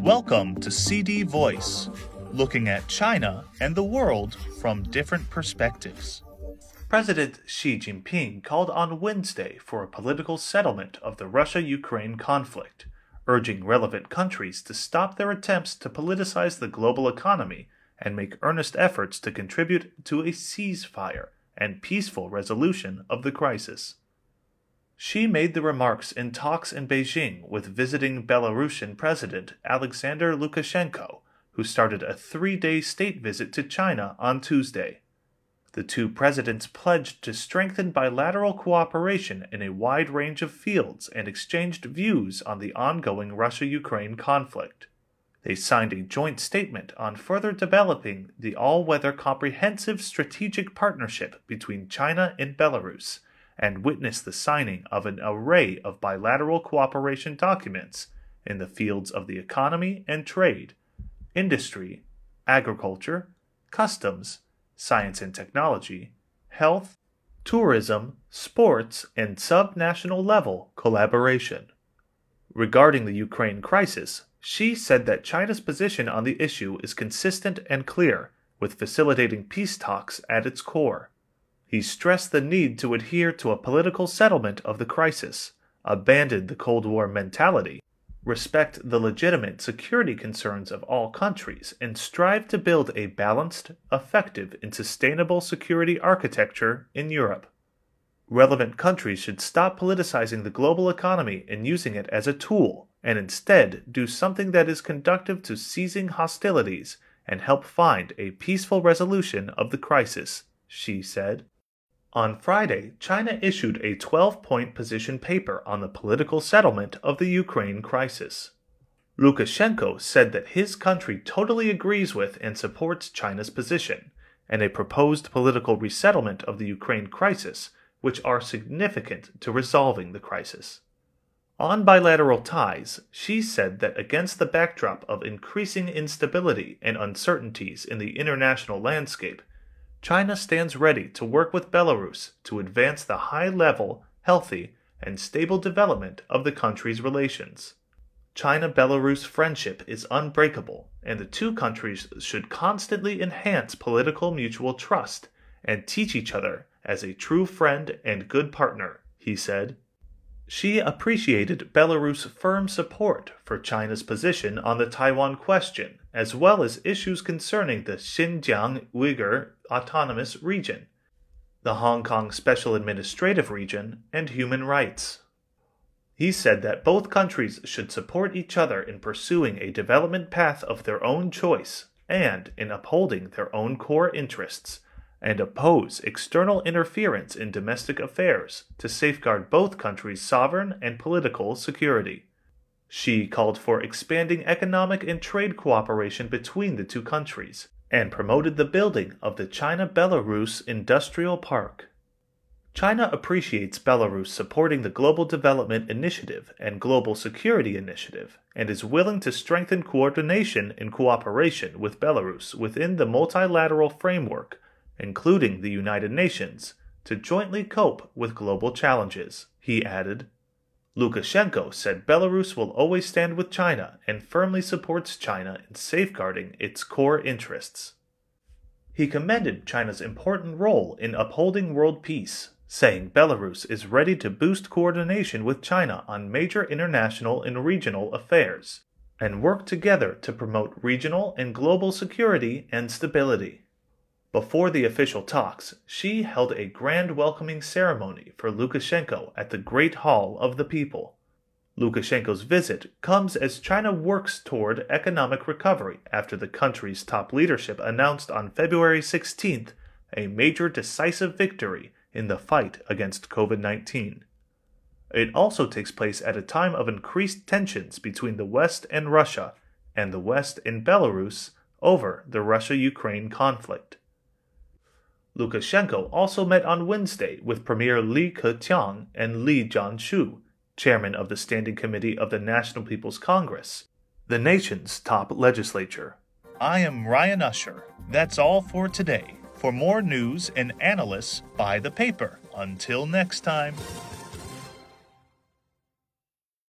Welcome to CD Voice, looking at China and the world from different perspectives. President Xi Jinping called on Wednesday for a political settlement of the Russia-Ukraine conflict, urging relevant countries to stop their attempts to politicize the global economy and make earnest efforts to contribute to a ceasefire and peaceful resolution of the crisis. Xi made the remarks in talks in Beijing with visiting Belarusian President Alexander Lukashenko, who started a 3-day state visit to China on Tuesday. The two presidents pledged to strengthen bilateral cooperation in a wide range of fields and exchanged views on the ongoing Russia-Ukraine conflict. They signed a joint statement on further developing the all-weather comprehensive strategic partnership between China and Belarus, and witnessed the signing of an array of bilateral cooperation documents in the fields of the economy and trade, industry, agriculture, customs, science and technology, health, tourism, sports, and sub-national level collaboration. Regarding the Ukraine crisis, Xi said that China's position on the issue is consistent and clear, with facilitating peace talks at its core. He stressed the need to adhere to a political settlement of the crisis, abandon the Cold War mentality, respect the legitimate security concerns of all countries, and strive to build a balanced, effective, and sustainable security architecture in Europe. Relevant countries should stop politicizing the global economy and using it as a tool, and instead do something that is conducive to ceasing hostilities and help find a peaceful resolution of the crisis, Xi said. On Friday, China issued a 12-point position paper on the political settlement of the Ukraine crisis. Lukashenko said that his country totally agrees with and supports China's position, and a proposed political resettlement of the Ukraine crisis, which are significant to resolving the crisis. On bilateral ties, Xi said that against the backdrop of increasing instability and uncertainties in the international landscape, China stands ready to work with Belarus to advance the high-level, healthy, and stable development of the country's relations. China-Belarus friendship is unbreakable, and the two countries should constantly enhance political mutual trust and teach each other as a true friend and good partner, he said. Xi appreciated Belarus' firm support for China's position on the Taiwan question, as well as issues concerning the Xinjiang Uyghur Autonomous Region, the Hong Kong Special Administrative Region, and human rights. He said that both countries should support each other in pursuing a development path of their own choice and in upholding their own core interests, and oppose external interference in domestic affairs to safeguard both countries' sovereign and political security. Xi called for expanding economic and trade cooperation between the two countries, and promoted the building of the China-Belarus Industrial Park. China appreciates Belarus supporting the Global Development Initiative and Global Security Initiative, and is willing to strengthen coordination and cooperation with Belarus within the multilateral framework, including the United Nations, to jointly cope with global challenges, he added. Lukashenko said Belarus will always stand with China and firmly supports China in safeguarding its core interests. He commended China's important role in upholding world peace, saying Belarus is ready to boost coordination with China on major international and regional affairs, and work together to promote regional and global security and stability. Before the official talks, Xi held a grand welcoming ceremony for Lukashenko at the Great Hall of the People. Lukashenko's visit comes as China works toward economic recovery after the country's top leadership announced on February 16th a major decisive victory in the fight against COVID-19. It also takes place at a time of increased tensions between the West and Russia, and the West and Belarus over the Russia-Ukraine conflict. Lukashenko also met on Wednesday with Premier Li Keqiang and Li Jianshu, chairman of the Standing Committee of the National People's Congress, the nation's top legislature. I am Ryan Usher. That's all for today. For more news and analysis, buy the paper. Until next time.